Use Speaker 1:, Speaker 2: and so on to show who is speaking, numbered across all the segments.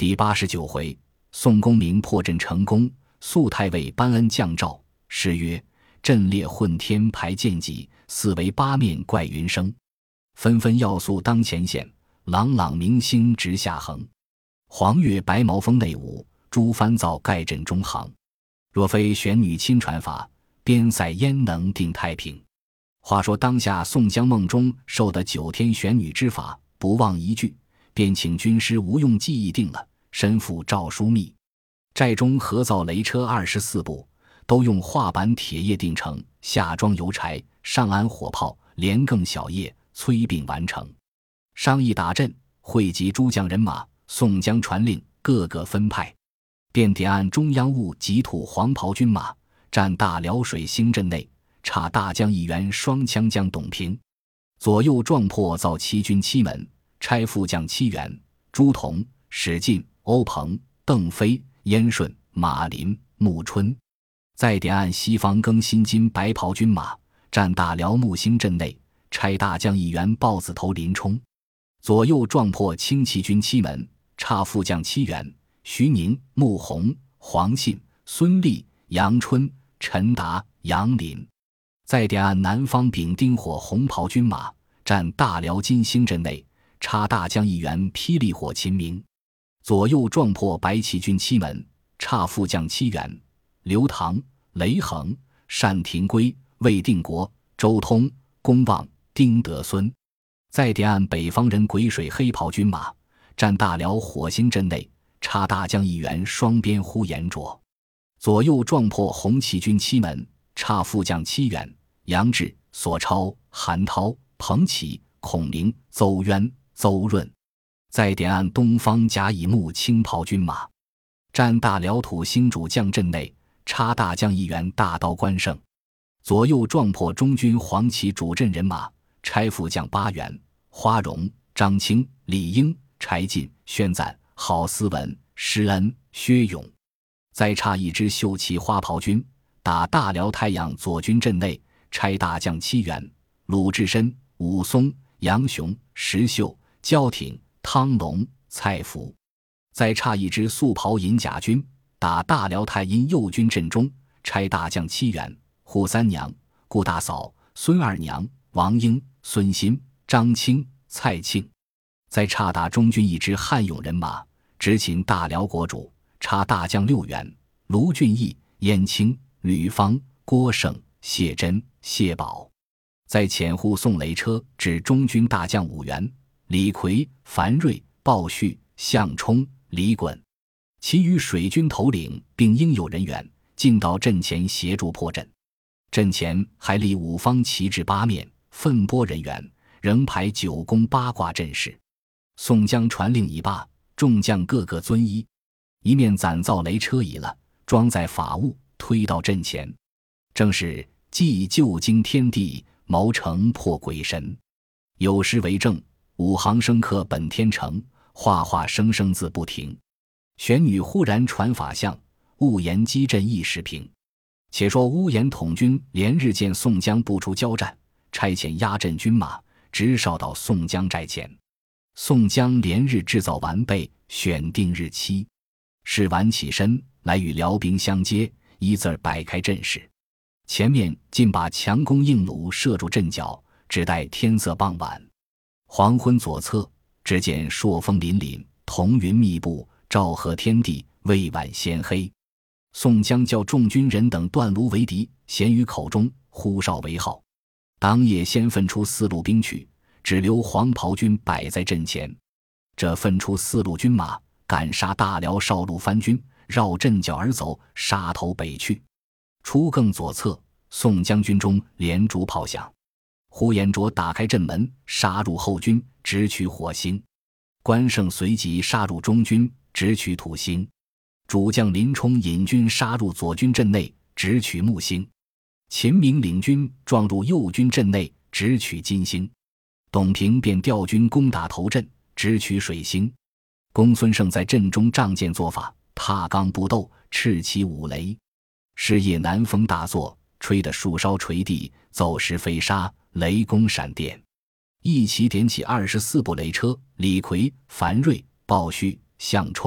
Speaker 1: 第89回，宋公明破阵成功，肃太尉颁恩降诏。诗曰：阵列混天排剑戟，四围八面怪云生。纷纷要素当前线，朗朗明星直下横。黄月白毛峰内舞，朱帆造盖阵中行。若非玄女亲传法，边塞焉能定太平？话说当下宋江梦中受的9天玄女之法，不忘一句，便请军师吴用记忆定了，身负诏书密。寨中合造雷车24部，都用画板铁叶定成，下装油柴，上安火炮，连更小叶，催并完成。商议打阵，汇集诸将人马，宋江传令，各个分派，便点按中央务急土黄袍军马，占大辽水兴阵内，差大将一员双枪将董平。左右撞破造七军七门，差副将7员，朱仝、史进、欧鹏、邓飞、燕顺、马林、穆春。再点按西方更新金白袍军马，占大辽木兴阵内，差大将一员豹子头林冲。左右撞破轻骑军7门，差副将7员，徐宁、穆弘、黄信、孙立、杨春、陈达、杨林。再点按南方丙丁火红袍军马，占大辽金兴阵内，差大将一员霹雳火秦明。左右撞破白骑军7门，差副将7员，刘唐、雷横、单廷圭、魏定国、周通、公望、丁德孙。再点按北方人鬼水黑袍军马，占大辽火星阵内，差大将一员双鞭呼延灼。左右撞破红旗军7门，差副将7员，杨志、索超、韩涛、彭祺、孔明、邹渊、邹润。再点按东方甲乙木青袍军马，占大辽土星主将阵内，差大将一员大刀关胜。左右撞破中军黄旗主阵人马，差副将8员，花荣、张清、李应、柴进、宣赞、郝思文、施恩、薛勇。再差一支绣旗花袍军，打大辽太阳左军阵内，差大将7员，鲁智深、武松、杨雄、石秀、焦挺、汤龙、蔡福。再差一支素袍银甲军，打大辽太阴右军阵中，差大将7员，扈三娘、顾大嫂、孙二娘、王英、孙新、张清、蔡庆。再差打中军一支汉勇人马，执勤大辽国主，差大将6员，卢俊义、燕青、吕方、郭盛、谢真、谢宝。再遣护送雷车至中军大将5员，李逵、樊瑞、鲍旭、项冲、李衮。其余水军头领并应有人员，进到阵前协助破阵。阵前还立5方旗帜8面，分拨人员，仍排9宫8卦阵势。宋江传令已罢，众将个个遵依，一面攒造雷车已了，装载法物，推到阵前。正是既救惊天地，谋成破鬼神。有诗为证：5行生刻本天成，画画生生字不停。玄女忽然传法相，误言击阵一时平。且说乌延统军连日见宋江不出交战，差遣压阵军马直哨到宋江寨前。宋江连日制造完备，选定日期。是晚起身来与辽兵相接，一字摆开阵势。前面尽把强弓硬弩射住阵脚，只待天色傍晚。黄昏左侧，只见朔风凛凛，彤云密布，照和天地，未晚先黑。宋江叫众军人等断炉为敌，衔于口中，呼哨为号。当夜先分出4路兵去，只留黄袍军摆在阵前。这分出4路军马，赶杀大辽少路番军，绕阵脚而走，杀头北去。出更左侧，宋江军中连珠炮响，呼延灼打开阵门，杀入后军，直取火星。关胜随即杀入中军，直取土星。主将林冲引军杀入左军阵内，直取木星。秦明领军撞入右军阵内，直取金星。董平便调军攻打头阵，直取水星。公孙胜在阵中仗剑作法，踏钢不斗，叱起五雷。是夜南风大作，吹得树梢垂地，走石飞沙，雷公闪电。一齐点起24部雷车，李逵、樊瑞、鲍旭、项冲、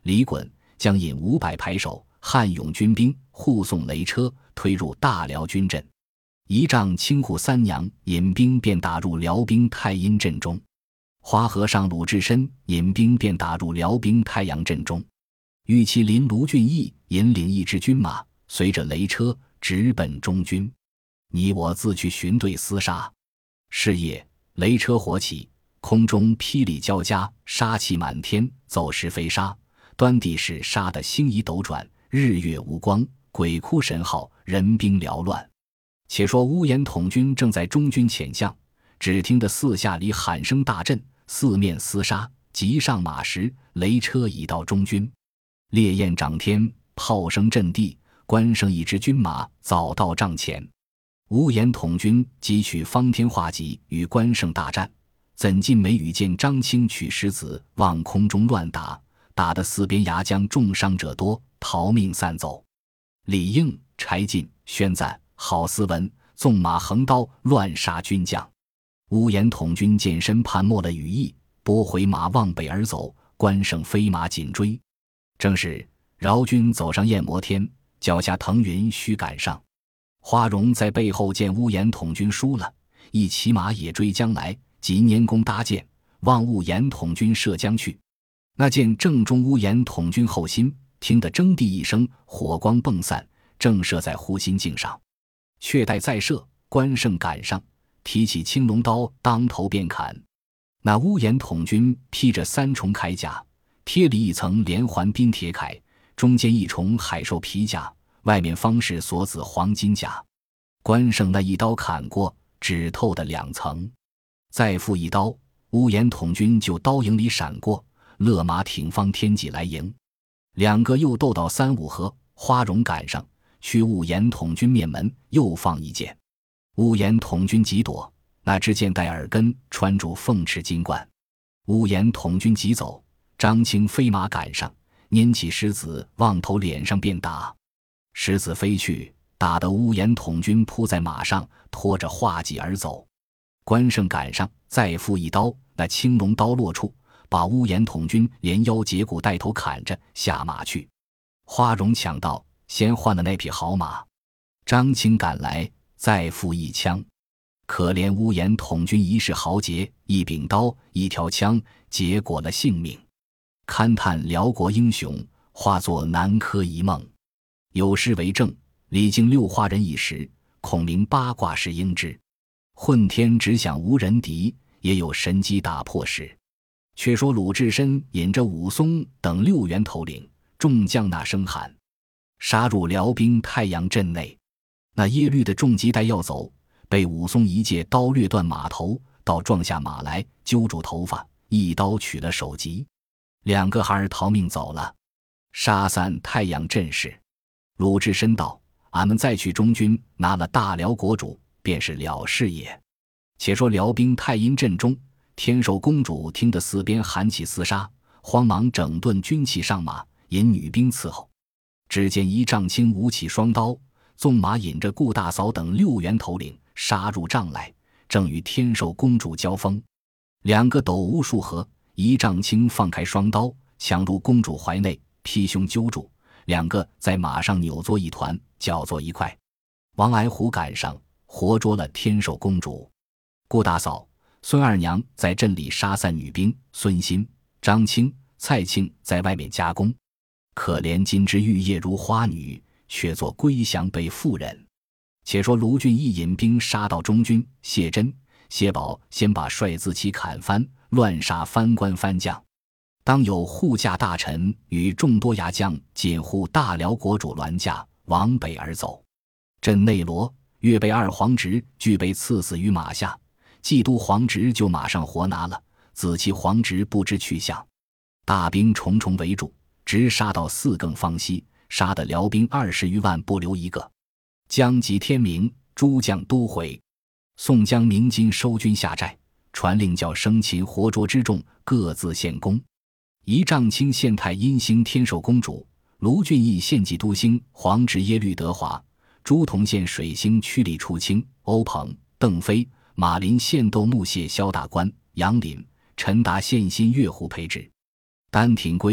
Speaker 1: 李衮将引500排守汉勇军兵护送雷车推入大辽军阵。仪仗清护三娘引兵便打入辽兵太阴阵中，花和尚鲁智深引兵便打入辽兵太阳阵中。玉麒麟卢俊义引领一支军马，随着雷车直奔中军。你我自去寻队厮杀。是夜，雷车火起，空中霹雳交加，杀气满天，走石飞沙，端地是杀得星移斗转，日月无光，鬼哭神号，人兵缭乱。且说乌延统军正在中军潜向，只听得四下里喊声大震，四面厮杀，急上马时，雷车已到中军。烈焰涨天，炮声震地，关胜一支军马早到帐前。乌延统军急取方天画戟与关胜大战，怎禁没羽见张清取石子往空中乱打，打得四边牙将重伤者多，逃命散走。李应、柴进宣赞好斯文，纵马横刀乱杀军将。乌延统军见身叛没了羽翼，拨回马往北而走，关胜飞马紧追。正是饶军走上焰摩天，脚下腾云须赶上。花荣在背后见乌延统军输了，一骑马也追将来，即拈弓搭箭，望乌延统军射将去。那箭正中乌延统军后心，听得铮地一声，火光迸散，正射在护心镜上。却待再射，关胜赶上，提起青龙刀，当头便砍。那乌延统军披着3重铠甲，贴里一层连环冰铁铠，中间一重海兽皮甲，外面方是锁子黄金甲。关胜那一刀砍过，只透的2层。再复一刀，乌延统军就刀影里闪过，勒马挺方天戟来迎。2个又斗到3、5合，花荣赶上，去乌延统军面门，又放一箭。乌延统军急躲，那支箭带耳根，穿住凤翅金冠。乌延统军急走，张清飞马赶上，拈起石子往头脸上便打。石子飞去，打得乌延统军扑在马上，拖着画戟而走。关胜赶上，再复一刀，那青龙刀落处，把乌延统军连腰截骨带头砍着下马去。花荣抢到，先换了那匹好马。张清赶来，再复一枪。可怜乌延统军一世豪杰，一柄刀一条枪，结果了性命。勘探辽国英雄，化作南柯一梦。有诗为证：李靖6花人一时，孔明8卦是应之。混天只想无人敌，也有神机打破时。却说鲁智深引着武松等6员头领，众将那声喊，杀入辽兵太阳阵内。那耶律的重骑带要走，被武松一借刀掠断马头，倒撞下马来，揪住头发，一刀取了首级。2个孩儿逃命走了，杀散太阳阵势。鲁智深道：俺们再去中军，拿了大辽国主，便是了事也。且说辽兵太阴阵中，天寿公主听得四边喊起厮杀，慌忙整顿军器上马，引女兵伺候。只见一丈青舞起双刀，纵马引着顾大嫂等6员头领杀入帐来，正与天寿公主交锋。2个斗无数合，一丈青放开双刀，抢入公主怀内，劈胸揪住，2个在马上扭作一团，搅作一块。王矮虎赶上，活捉了天寿公主。顾大嫂、孙二娘在阵里杀散女兵，孙新、张清、蔡庆在外面加工。可怜金枝玉叶如花女，却做归降被妇人。且说卢俊义引兵杀到中军，谢珍、谢宝先把帅字旗砍翻，乱杀藩官藩将。当有护驾大臣与众多牙将紧护大辽国主銮驾往北而走。镇内罗、岳备2皇侄俱被赐死于马下，冀都皇侄就马上活拿了，子期皇侄不知去向。大兵重重围住，直杀到4更方息，杀得辽兵20余万不留一个。将及天明，诸将都回。宋江、鸣金收军下寨，传令叫生擒活捉之众各自献功。一丈青献太阴星天寿公主，卢俊义献冀都星皇侄耶律德华，朱仝献水星曲里出清，欧鹏、邓飞、马林献斗木谢萧大官，杨林、陈达献新岳湖培之。丹廷圭、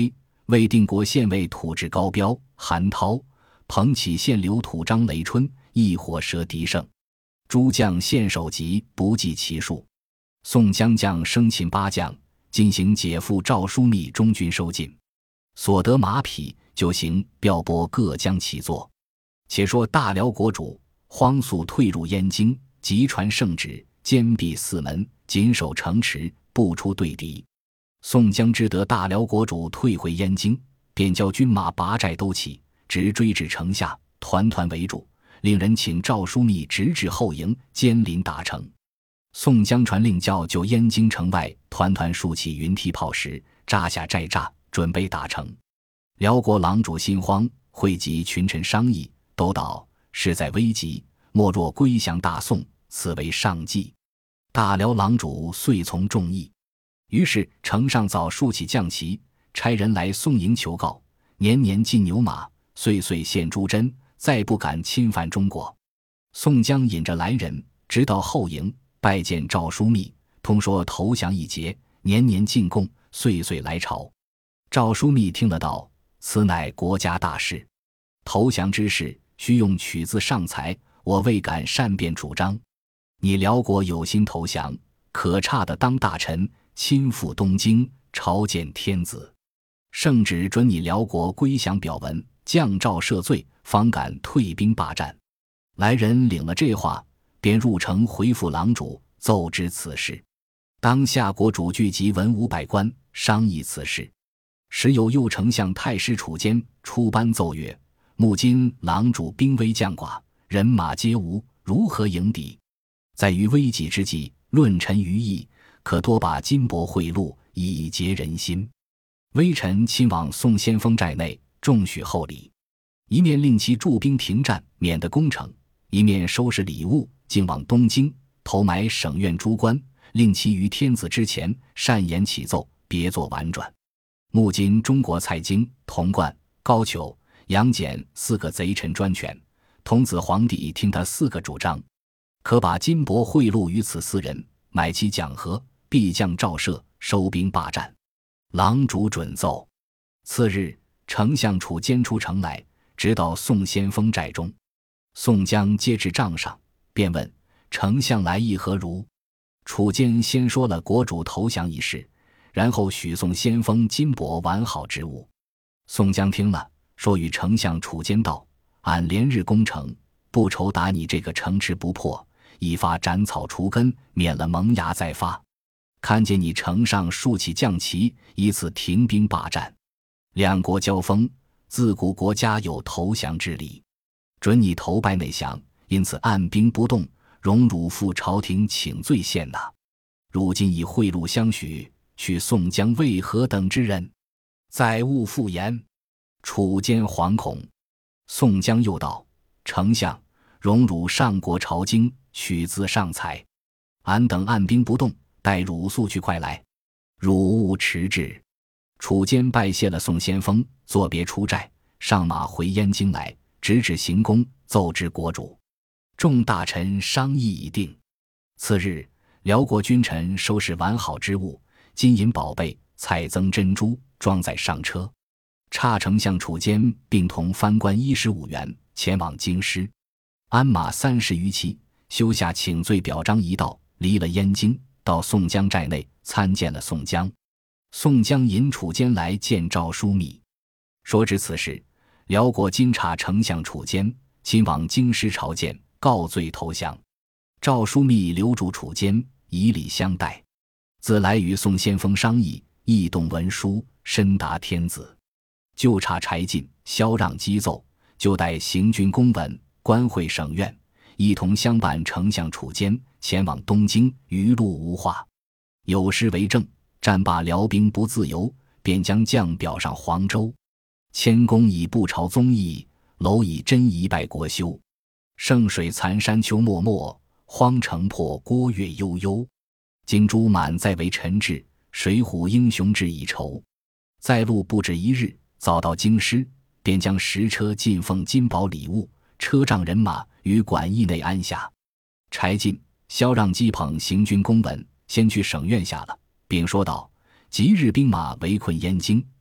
Speaker 1: 魏定国县尉土质高彪、韩涛，彭杞县留土张雷春一火蛇狄胜，诸将献首级不计其数。宋江将生擒8将，进行解赴赵枢密中军收进，所得马匹就行调拨各将其作。且说大辽国主荒速退入燕京，急传圣旨，坚闭4门，紧守城池，不出对敌。宋江知得大辽国主退回燕京，便叫军马拔寨都起，直追至城下，团团围住，令人请赵枢密直至后营，监临大城。宋江传令叫就燕京城外团团竖起云梯炮石，扎下寨栅，准备打城。辽国郎主心慌，汇集群臣商议，都道事在危急，莫若归降大宋，此为上计。大辽郎主遂从众议。于是城上早竖起将旗，差人来宋营求告，年年进牛马，岁岁献朱针，再不敢侵犯中国。宋江引着来人，直到后营，拜见赵枢密，通说投降一节，年年进贡，岁岁来朝。赵枢密听了道：此乃国家大事，投降之事须用曲字上裁，我未敢善变主张。你辽国有心投降，可差的当大臣，亲赴东京，朝见天子。圣旨准你辽国归降表文，降诏赦罪，方敢退兵霸占。来人领了这话，便入城回复郎主，奏知此事。当下国主聚集文武百官，商议此事。时有右丞相太师楚坚出班奏曰：目今郎主兵危将寡，人马皆无，如何迎敌？在于危急之际，论臣于义，可多把金帛贿赂，以结人心。微臣亲往宋先锋寨内，重许厚礼，一面令其驻兵停战，免得攻城；一面收拾礼物，径往东京，投埋省院诸官，令其于天子之前善言启奏，别作婉转。目今中国蔡京、童贯、高俅、杨戬4个贼臣专权，童子皇帝听他4个主张，可把金帛贿赂于此4人，买其讲和，必将诏赦，收兵霸占。郎主准奏。次日，丞相楚坚出城来，直到宋先锋寨中。宋江接至帐上，便问丞相来意何如。楚坚先说了国主投降一事，然后许宋先锋金帛完好之物。宋江听了，说与丞相楚坚道：俺连日攻城，不愁打你这个城池不破，一发斩草除根，免了萌芽再发。看见你城上竖起将旗，以此停兵霸占。两国交锋，自古国家有投降之理，准你投拜内降，因此按兵不动，容汝赴朝廷请罪献纳。如今以贿赂相许，去宋江为何等之人？再勿复言。楚坚惶恐。宋江又道：丞相，容汝上国朝京，取字上裁，俺等按兵不动，待汝速去快来，汝勿迟滞。楚坚拜谢了宋先锋，作别出寨，上马回燕京来，直指行宫，奏知国主。众大臣商议已定。次日，辽国君臣收拾完好之物，金银宝贝、彩增珍珠，装载上车。差丞相楚坚并同藩官15员前往京师，鞍马30余骑，修下请罪表彰一道，离了燕京，到宋江寨内参见了宋江。宋江引楚坚来见赵枢密，说知此事，辽国金察丞相楚坚亲往京师朝见，告罪投降。赵枢密留住楚坚，以礼相待。自来与宋先锋商议，议动文书，深达天子。就差柴进、萧让击奏，就带行军公文、官会省院，一同相伴丞相楚坚前往东京，余路无话。有诗为证：战罢辽兵不自由，便将将表上黄州。谦恭以不朝宗义，蝼蚁真一败国休。圣水残山秋漠漠，荒城破郭月悠悠。金珠满载为陈志，水浒英雄志已酬。在路不止一日，早到京师，便将10车进奉金宝礼物、车仗人马于馆驿内安下。柴进、萧让击捧行军公文，先去省院下了，并说道：即日兵马围困燕京，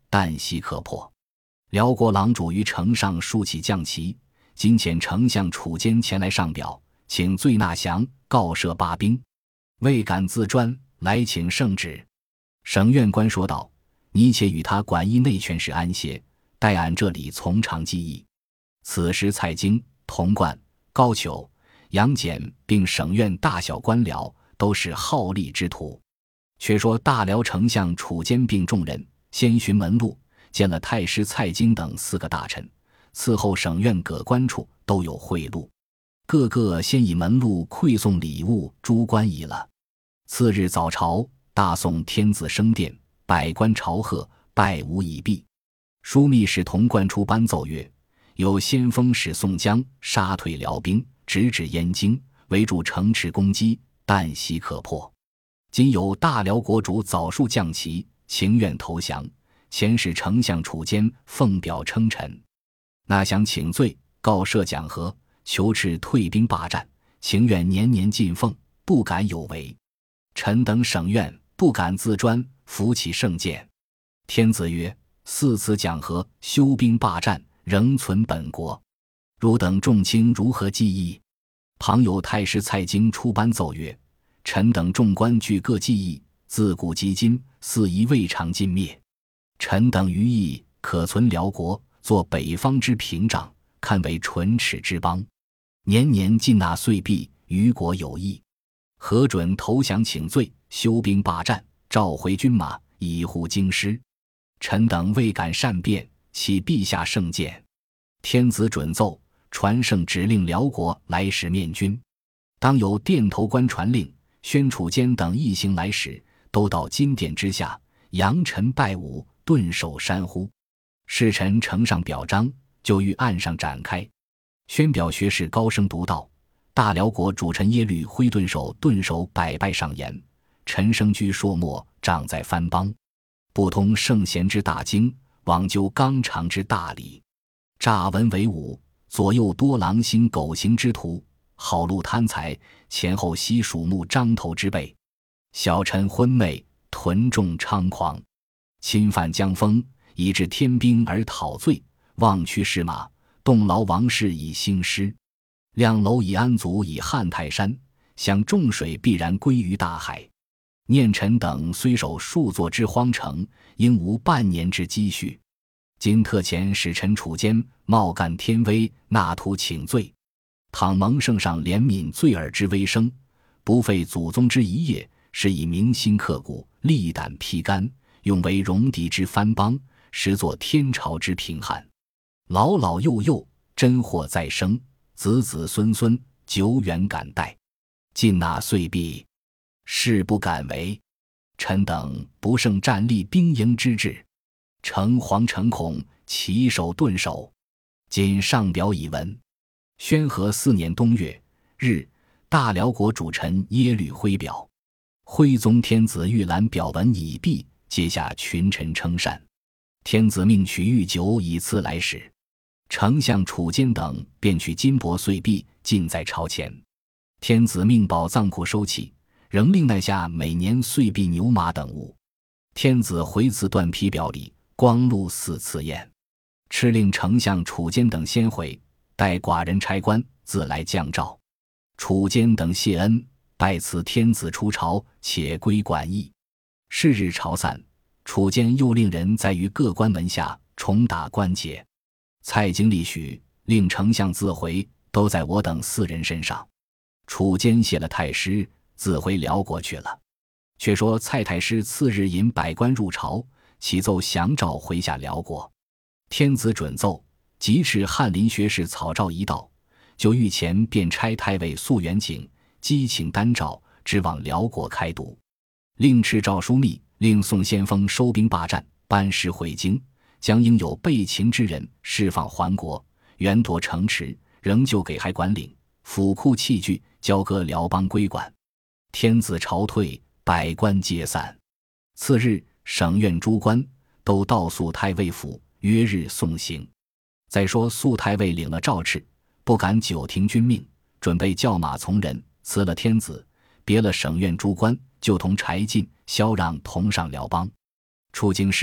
Speaker 1: 旦夕可破。辽国郎主于城上竖起将旗，今遣丞相楚坚前来上表，请罪纳降，告赦罢兵。未敢自专，来请圣旨。省院官说道：你且与他管议内权使安歇，待俺这里从长计议。此时蔡京、童贯、高俅、杨俭并省院大小官僚都是好利之徒。却说大辽丞相楚坚并众人先寻门路，见了太师蔡京等4个大臣，伺候省院各官处都有贿赂，个个先以门路馈送礼物诸官仪了。次日早朝，大宋天子升殿，百官朝贺，拜吾已毕。枢密使童贯出班奏曰：有先锋使宋江杀退辽兵，直指燕京，围住城池攻击，旦夕可破。今有大辽国主早数将旗，情愿投降，前使丞相楚坚奉表称臣。那想请罪，告赦讲和，求斥退兵罢战，情愿年年进奉，不敢有违。臣等省院不敢自专，扶起圣鉴。天子曰：4次讲和，休兵罢战，仍存本国。汝等众卿如何计议？旁有太师蔡京出班奏曰：臣等众官俱各计议，自古及今，似疑未尝尽灭。臣等余意可存辽国，作北方之屏障，堪为唇齿之邦。年年进纳岁币，于国有益。核准投降请罪，休兵罢战，召回军马，以护京师。臣等未敢善变，启陛下圣鉴。天子准奏，传圣指令辽国来使面君。当有殿头官传令，宣楚坚等一行来使，都到金殿之下，扬尘拜舞，顿首山呼。侍臣呈上表彰，就于案上展开。宣表学士高声读道：大辽国主臣耶律辉顿首百拜上言：臣生居朔漠，长在藩邦，不通圣贤之大经，罔究纲常之大理，诈文为武，左右多狼心狗行之徒，好戮贪财，前后悉属目张头之辈。小臣昏昧，屯众猖狂，侵犯疆风，以致天兵而讨罪，忘驱士马，动劳王室以兴师，亮胪以安卒以撼泰山，想众水必然归于大海。念臣等虽守数座之荒城，应无半年之积蓄。今特遣使臣楚坚冒干天威，纳图请罪。倘蒙圣上怜悯罪尔之微声，不废祖宗之遗业，是以铭心刻骨，力胆披肝，用为戎狄之藩邦，实作天朝之贫汉。老老幼幼，真祸再生，子子孙孙，久远感戴。尽纳岁币，誓不敢为。臣等不胜战立兵营之志，诚惶诚恐，起手顿首。今上表已闻。宣和4年冬月日，大辽国主臣耶律辉表。徽宗天子御览表文已毕，接下群臣称善。天子命取御酒以赐来使。丞相楚坚等便取金帛岁币，尽在朝前。天子命宝藏库收起，仍令奈下每年岁币牛马等物。天子回赐缎皮表里，光禄4次宴。敕令丞相楚坚等先回，待寡人差官自来降诏。楚坚等谢恩，拜辞天子出朝，且归馆驿。是日朝散，楚坚又令人在于各关门下重打关节。蔡京立许，令丞相自回，都在我等4人身上。楚坚谢了太师，自回辽国去了。却说蔡太师次日引百官入朝，启奏降诏回下辽国。天子准奏，即敕翰林学士草诏一道，就御前便差太尉肃元景击请单诏，直往辽国开读。令敕诏枢密，令宋先锋收兵罢战，班师回京，将应有被擒之人释放还国，原夺城池，仍旧给还管领，府库器具交割辽邦归管。天子朝退，百官皆散。次日，省院诸官都到肃太尉府，约日送行。再说肃太尉领了诏敕，不敢久停军命，准备叫马从人，辞了天子，别了省院诸官，就同柴进、萧让同上辽邦。出京师，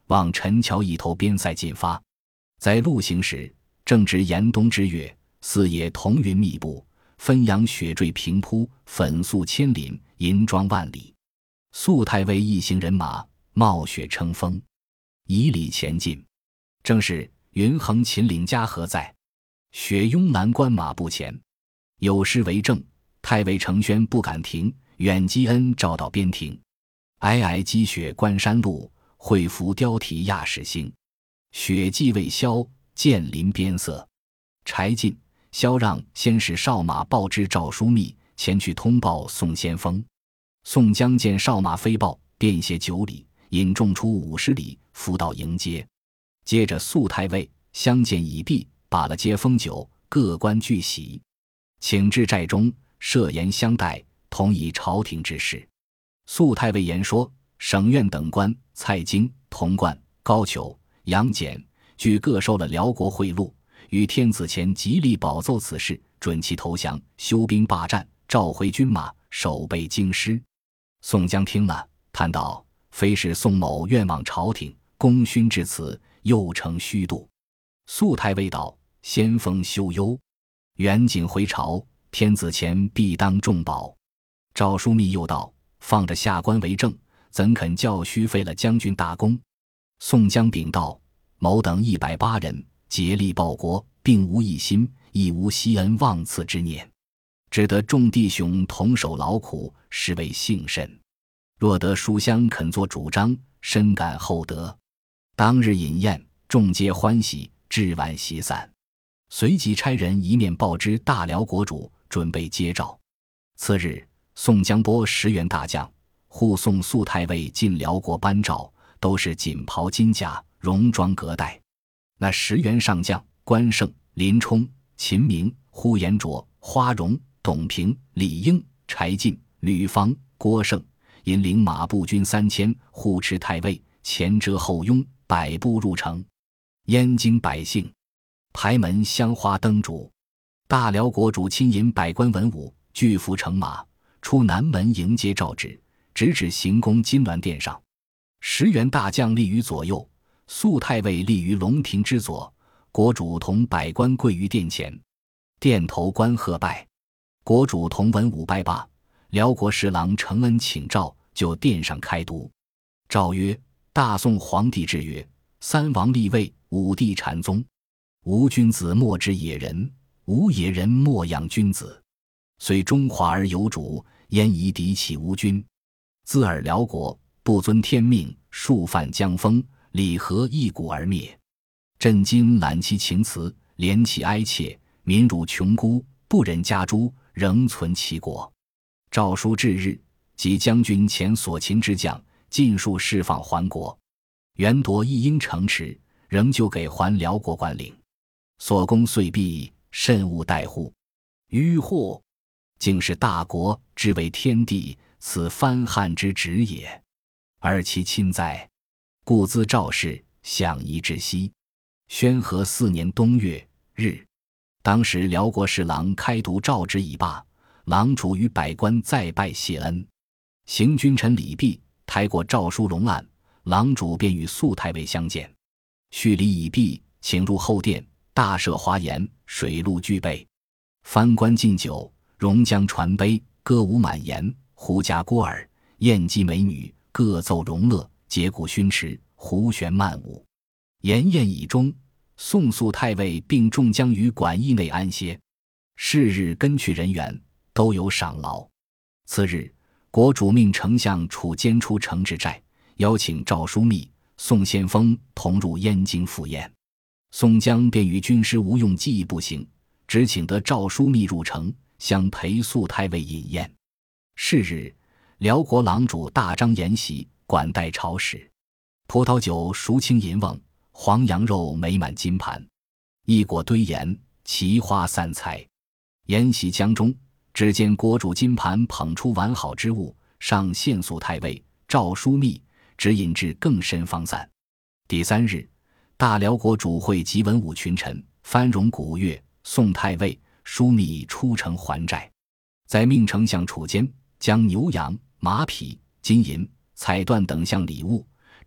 Speaker 1: 往陈桥一头边塞进发。在路行时，正值严冬之月，四野彤云密布，汾阳雪坠平铺，粉素千林，银装万里。肃太尉一行人马冒雪乘风，以礼前进。正是云横秦岭家何在，雪拥蓝关马不前。有诗为证：太尉程宣不敢停，远积恩照到边庭。皑皑积雪关山路，会拂貂蹄亚使星。雪霁未消，剑临边塞。柴进、萧让先使哨马报知赵枢密，前去通报宋先锋。宋江见哨马飞报，便携9里，引众出50里，伏到迎接。接着肃太尉相见已毕，把了接风酒，各官俱喜，请至寨中，设筵相待，同议朝廷之事。肃太尉言说，省院等官蔡京、童贯、高俅、杨戬俱各受了辽国贿赂，与天子前极力保奏此事，准其投降，休兵罢战，召回军马，守备京师。宋江听了，叹道：非是宋某愿望朝廷，功勋至此，又成虚度。肃太尉道：先锋休忧，远景回朝，天子前必当重保。赵枢密又道：放着下官为政，怎肯叫虚废了将军大功？宋江禀道：某等180人，竭力报国，并无一心，亦无惜恩忘赐之念，只得众弟兄同守劳苦，实为幸甚。若得书香肯作主张，深感厚德。当日饮宴，众皆欢喜，至晚席散。随即差人一面报知大辽国主，准备接诏。次日，宋江拨10员大将护送肃太尉进辽国颁诏，都是锦袍金甲，戎装革带。那10员上将关胜、林冲、秦明、呼延灼、花荣、董平、李应、柴进、吕方、郭盛，引领马步军3000，护持太尉，前遮后拥，百步入城。燕京百姓排门香花灯烛，大辽国主亲引百官文武俱伏乘马，出南门迎接诏旨，直至行宫金銮殿上。10员大将立于左右，肃太尉立于龙庭之左，国主同百官跪于殿前。殿头官贺拜，国主同文武拜罢。辽国侍郎承恩请诏，就殿上开读。诏曰：大宋皇帝制曰：3王立位，5帝禅宗。无君子莫之野人，无野人莫养君子。虽中华而有主，焉宜敌起无君？自尔辽国不遵天命，数犯江风，礼和一鼓而灭。朕今揽其情辞，怜其哀切，民辱穷孤，不忍加诛，仍存其国。诏书至日，即将军前所擒之将尽数释放还国，原夺一应城池，仍旧给还辽国管领。所功遂毕，慎勿怠乎。迂惑，竟是大国，之为天地，此藩汉之职也。而其亲在，故兹赵氏，享宜之息。宣和4年冬月日，当时辽国侍郎开读诏旨已罢，郎主与百官再拜谢恩。行君臣礼毕，抬过诏书龙案，郎主便与肃太尉相见。叙礼已毕，请入后殿，大设华筵，水陆俱备。藩官敬酒，戎将传杯，歌舞满檐，狐家郭耳，艳姬美女，各奏荣乐，节鼓熏池，胡旋漫舞。筵宴已终，宋肃太尉并众将于馆驿内安歇。是日跟去人员，都有赏劳。次日，国主命丞相楚坚出城至寨，邀请赵枢密、宋先锋同入燕京赴宴。宋江便与军师吴用计议步行，只请得赵枢密入城，相陪肃太尉饮宴。是日，辽国郎主大张筵席，管待朝使，葡萄酒孰轻银瓮，黄羊肉美满金盘，一果堆筵，奇花散彩。宴席将中，只见国主金盘捧出完好之物，上献肃太尉、赵枢密，指引至更深方散。第3日，大辽国主会集文武群臣，翻戎鼓乐，宋太尉、枢密出城还寨。再命丞相楚坚将牛羊、马匹、金银、彩缎等项礼物，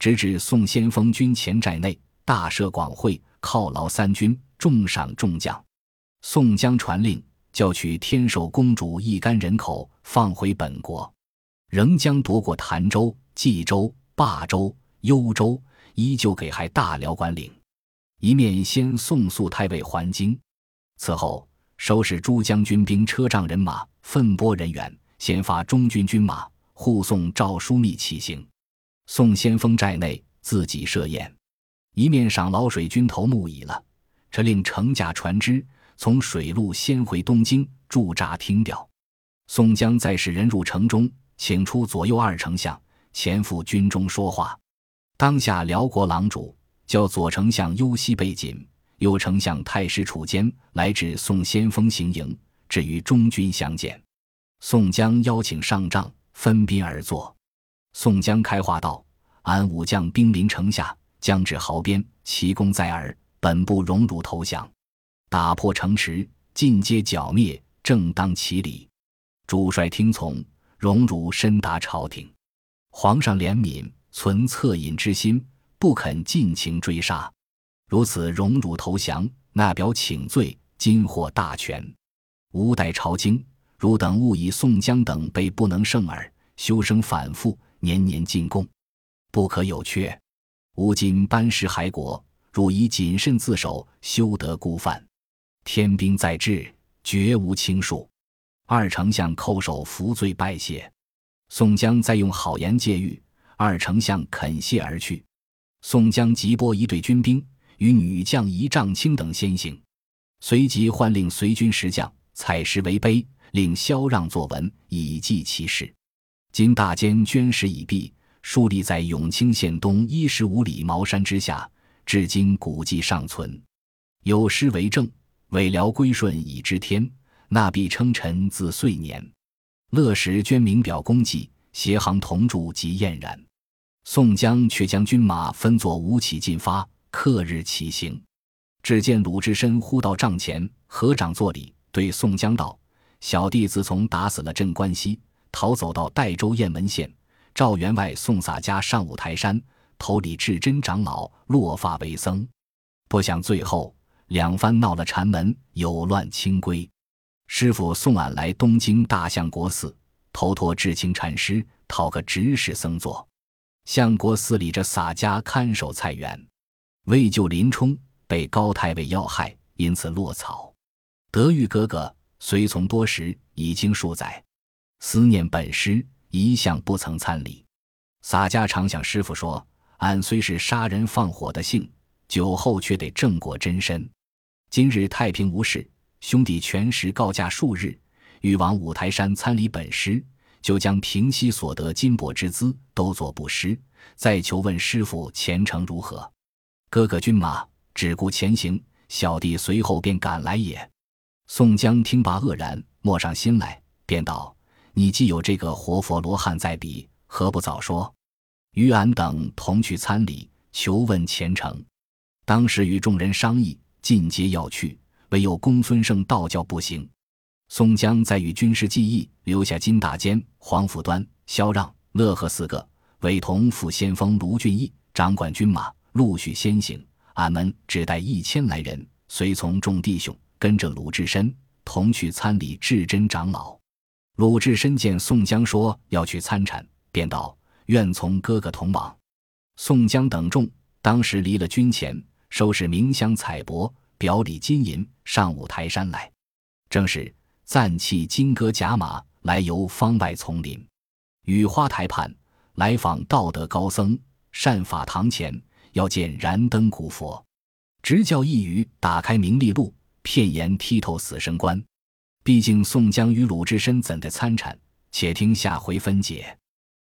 Speaker 1: 直至宋先锋军前寨内，大设广会，犒劳三军，重赏众将。宋江传令，叫取天寿公主一干人口，放回本国。仍将夺过潭州、冀州、霸州、幽州，依旧给还大辽管领。一面先送肃太尉还京，此后收拾诸将军兵车仗人马，分拨人员，先发中军军马护送赵枢密起行。宋先锋寨内自己设宴，一面赏老水军头目已了，这令乘驾船只从水路先回东京驻扎听调。宋江再使人入城中，请出左右二丞相，前赴军中说话。当下辽国郎主叫左丞相右西备锦，右丞相太师楚坚来至宋先锋行营，至于中军相见。宋江邀请上帐，分宾而坐。宋江开话道：俺武将兵临城下，将至壕边，奇功在耳，本不荣辱投降，打破城池，尽皆剿灭，正当其理。主帅听从，荣辱深达朝廷。皇上怜悯，存恻隐之心，不肯尽情追杀。如此荣辱投降，那表请罪，今获大权。吾待朝京，汝等勿以宋江等辈不能胜耳，休生反复，年年进贡，不可有缺。吾今班师还国，汝宜谨慎自守，休得孤犯。天兵在至，绝无轻恕。二丞相叩首服罪拜谢。宋江再用好言借谕，二丞相肯谢而去。宋江即拨一队军兵与女将一丈青等先行，随即唤令随军十将采石为碑，令萧让作文，以记其事。今大监捐石已毕，竖立在永清县东15里茅山之下，至今古迹尚存。有诗为证：未辽归顺已知天，那必称臣自岁年。乐时捐名表功绩，协行同筑即晏然。宋江却将军马分作五起进发，刻日起行。只见鲁智深呼到帐前，合掌作礼，对宋江道：小弟自从打死了镇关西，逃走到代州雁门县，赵员外宋洒家上五台山，投礼至真长老，落发为僧。不想最后两番闹了禅门，有乱清规。师父送俺来东京大相国寺，投托智清禅师，讨个执事僧做。相国寺里这洒家看守菜园，为救林冲，被高太尉要害，因此落草。德育哥哥随从多时，已经数载，思念本师，一向不曾参礼。洒家常向师父说，俺虽是杀人放火的性，酒后却得正果真身。今日太平无事，兄弟全时告假数日，欲往五台山参礼本师，就将平息所得金帛之资都作布施，再求问师父前程如何。哥哥军马只顾前行，小弟随后便赶来也。宋江听罢愕然，默上心来，便道：你既有这个活佛罗汉在彼，何不早说？与俺等同去参礼，求问前程。当时与众人商议，尽皆要去，唯有公孙胜道教不行。宋江再与军师计议，留下金大坚、黄甫端、萧让、乐和四个，委同副先锋卢俊义掌管军马，陆续先行。俺们只带1000来人，随从众弟兄，跟着鲁智深同去参礼智真长老。鲁智深见宋江说要去参禅，便道：愿从哥哥同往。宋江等众当时离了军前，收拾冥香彩帛，表里金银，上五台山来。正是暂弃金戈甲马，来游方外丛林。雨花台畔，来访道德高僧，善法堂前，要见燃灯古佛。直教一语，打开明利路，片言剔透死生观。毕竟宋江与鲁智深怎的参禅，且听下回分解。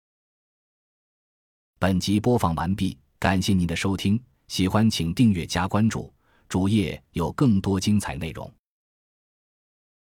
Speaker 1: 本集播放完毕，感谢您的收听，喜欢请订阅加关注，主页有更多精彩内容。